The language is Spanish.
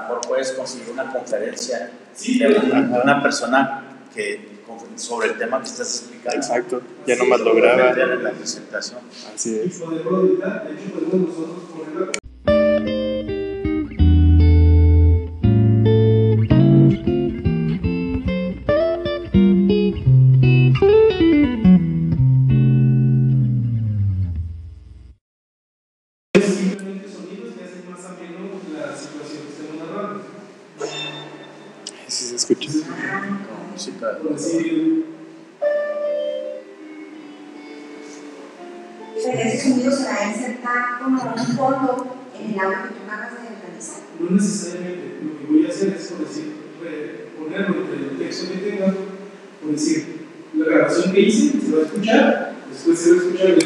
mejor puedes conseguir una conferencia de una persona sobre el tema que estás explicando. Exacto, ya nomás lo graba. En la presentación. Así es. Simplemente sonidos que hacen más ameno la situación que estamos narrando. Sí se escucha. Con música. Por decir, Pero ese sonido se va a insertar como un fondo en el audio que tú acabas de realizar. no necesariamente, lo que voy a hacer es, por decir, ponerlo entre el texto que tenga, por decir, la grabación que hice se va a escuchar, después se va a escuchar